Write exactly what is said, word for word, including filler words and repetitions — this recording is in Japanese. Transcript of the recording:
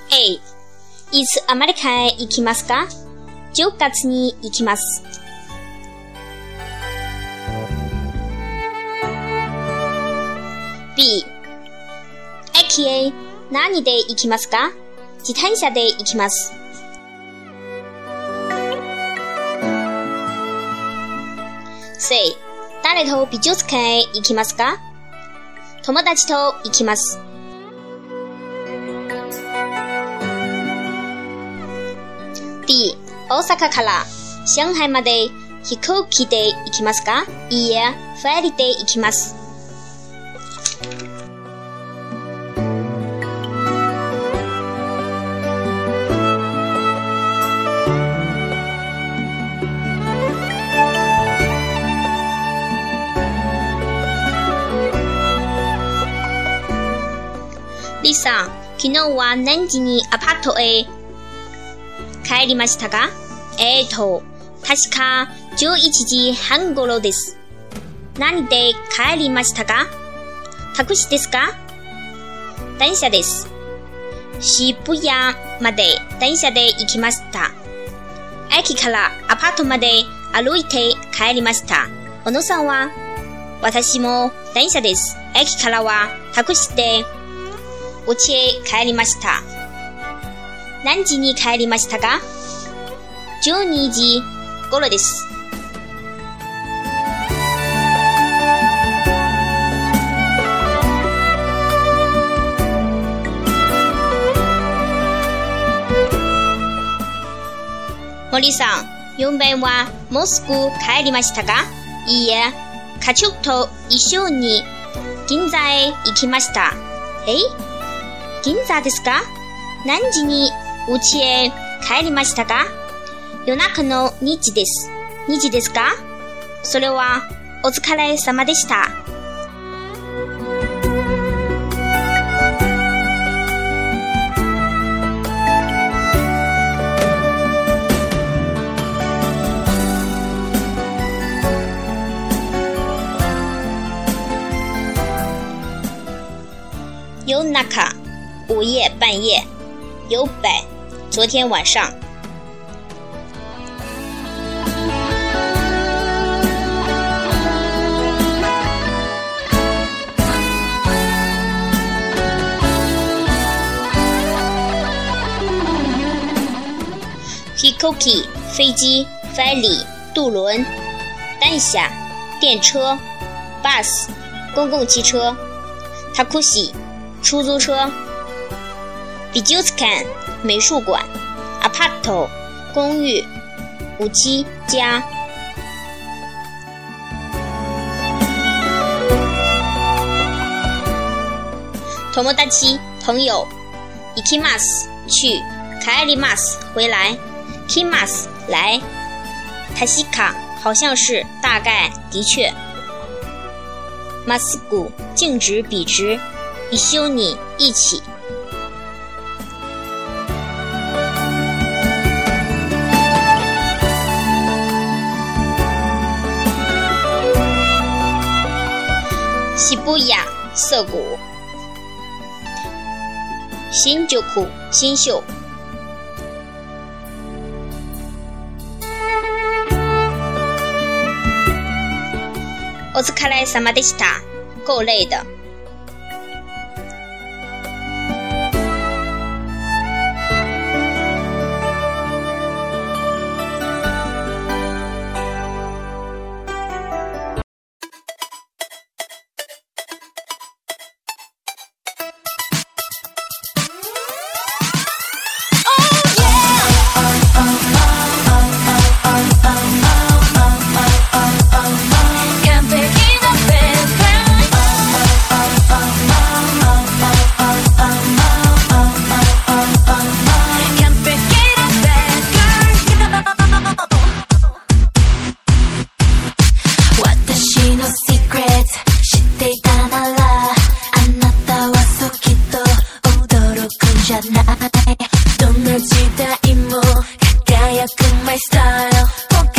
A、いつアメリカへ行きますか？じゅうがつに行きます。B、駅へ何で行きますか？自転車で行きます。C、誰と美術館へ行きますか？友達と行きます。D、大阪から上海まで飛行機で行きますか？いいえ、フェリーで行きます。リさん、昨日は何時にアパートへ帰りましたか？えーと、確かじゅういちじはん頃です。何で帰りましたか？タクシーですか？電車です。渋谷まで電車で行きました。駅からアパートまで歩いて帰りました。小野さんは？私も電車です。駅からはタクシーでお家へ帰りました。何時に帰りましたか？じゅうにじ頃です。森さん、よんべんはモスク帰りましたか？いいえ、家族と一緒に銀座へ行きました。え？銀座ですか？何時に家へ帰りましたか？夜中のにじです。にじですか？それはお疲れ様でした。夜中午夜半夜，有北，昨天晚上。飛行機、飛機、ferry、渡輪、電車、電車、bus、公共汽車、タクシー、出租車。美術館、美術館、アパート、公寓、五七家。友達、朋友。行きます、去。帰ります、回来。来ます、来。確か、好像是，大概，的確。まっすぐ、径直、笔直。一緒に、一起。渋谷、涩谷。新宿、新宿。お疲れ様でした。够累的。